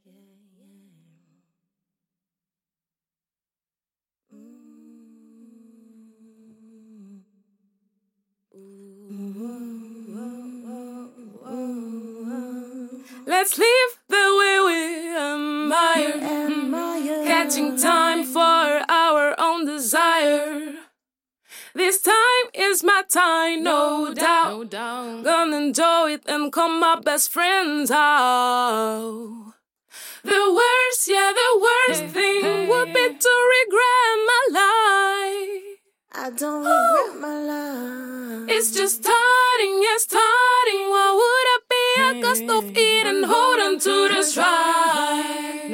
Let's live the way we admire, catching time for our own desire. This time is my time, no doubt. Gonna enjoy it and call my best friends out. The worst thing would be to regret my life. I don't regret my life. It's just starting, What would I be? I got stuff eating, hold on to the stride.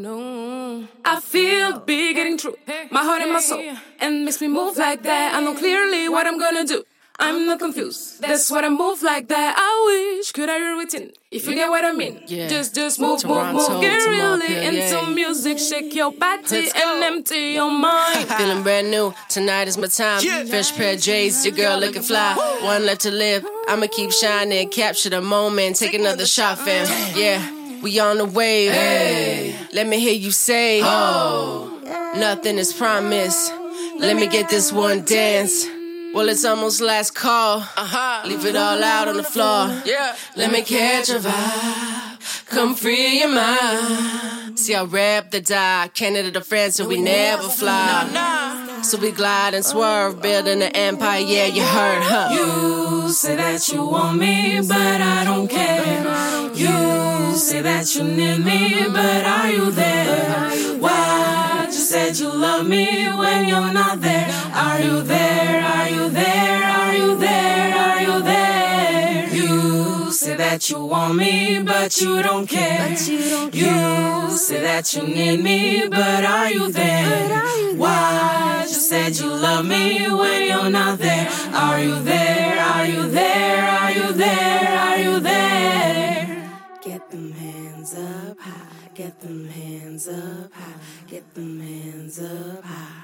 No. I feel big getting through my heart and my soul, and makes me move like that. I know clearly what I'm gonna do. I'm not confused. That's what I move like that. I wish could I hear it in, if you get what I mean. Yeah. Just move. Get really into music. Shake your body and empty your mind. Feeling brand new. Tonight is my time. Fresh pair of J's. Your girl looking fly. One left to live. I'ma keep shining. Capture the moment. Take another shot, fam. Yeah. We on the wave. Hey. Let me hear you say, oh. Nothing is promised. Let me get this one dance. Well, it's almost last call. Leave it all out on the floor. Let me catch a vibe. Come free your mind. See, I rap the die. Canada to France and we never fly. So we glide and swerve, building an empire. Yeah, you heard, huh? You say that you want me, but I don't care. You say that you need me, but are you there? Why? You said you love me when you're not there. Are you there? Are you there? Are you there? Are you there? You say that you want me, but you don't care. You say that you need me, but are you there? Why? You said you love me when you're not there. Are you there? Are you there? Are you there? Are you there? Get them hands up high. Get them hands up high. Get them hands up high.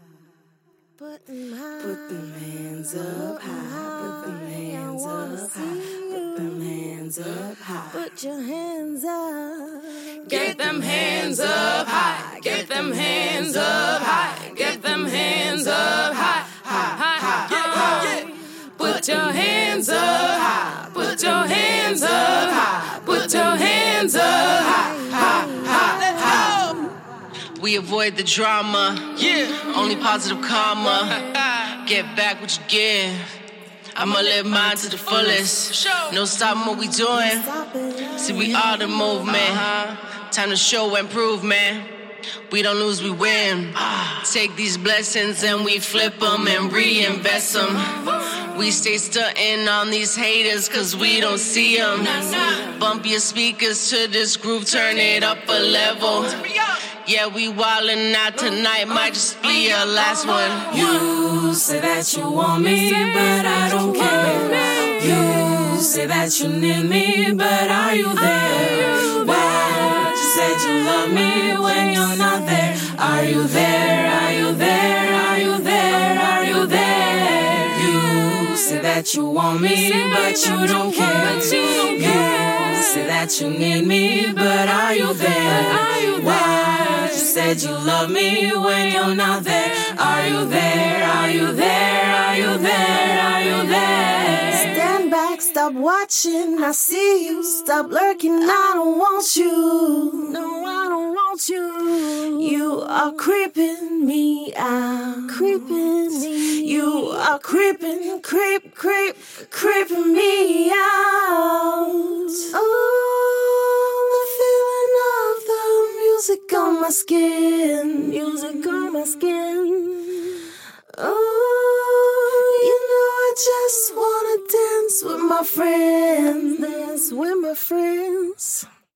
Put them hands up high. Put them hands up high. Put them hands up high. Put your hands up. Get them hands up high. Get them hands up high. Get them hands up high. High. Put your hands up high. Put your hands up high. Put your hands up high. We avoid the drama. Only positive karma. Get back what you give. I'ma live mine to the fullest. No stopping what we doing. See, we are the movement. Time to show and prove, man. We don't lose, we win. Take these blessings and we flip them and reinvest them. We stay stunting on these haters cause we don't see them. Bump your speakers to this groove, turn it up a level. Yeah, we wildin' out tonight, might just be our last one. You say that you want me, but I don't care. You say that you need me, but are you there? Why? You said you love me when you're not there. Are you there? Are you there? Are you there? Are you there? You say that you want me, but you don't care. You say that you need me, but are you there? Why? You said you love me when you're not there. Are you there? Are you there? Are you there? Are you there? Stand back, stop watching. I see you. Stop lurking. I don't want you. No, I don't want you. You are creeping me out. Creeping me. You are creeping me out. Oh, the feeling of the music on my skin. Music on my skin. Oh, you know I just wanna dance with my friends. Dance with my friends.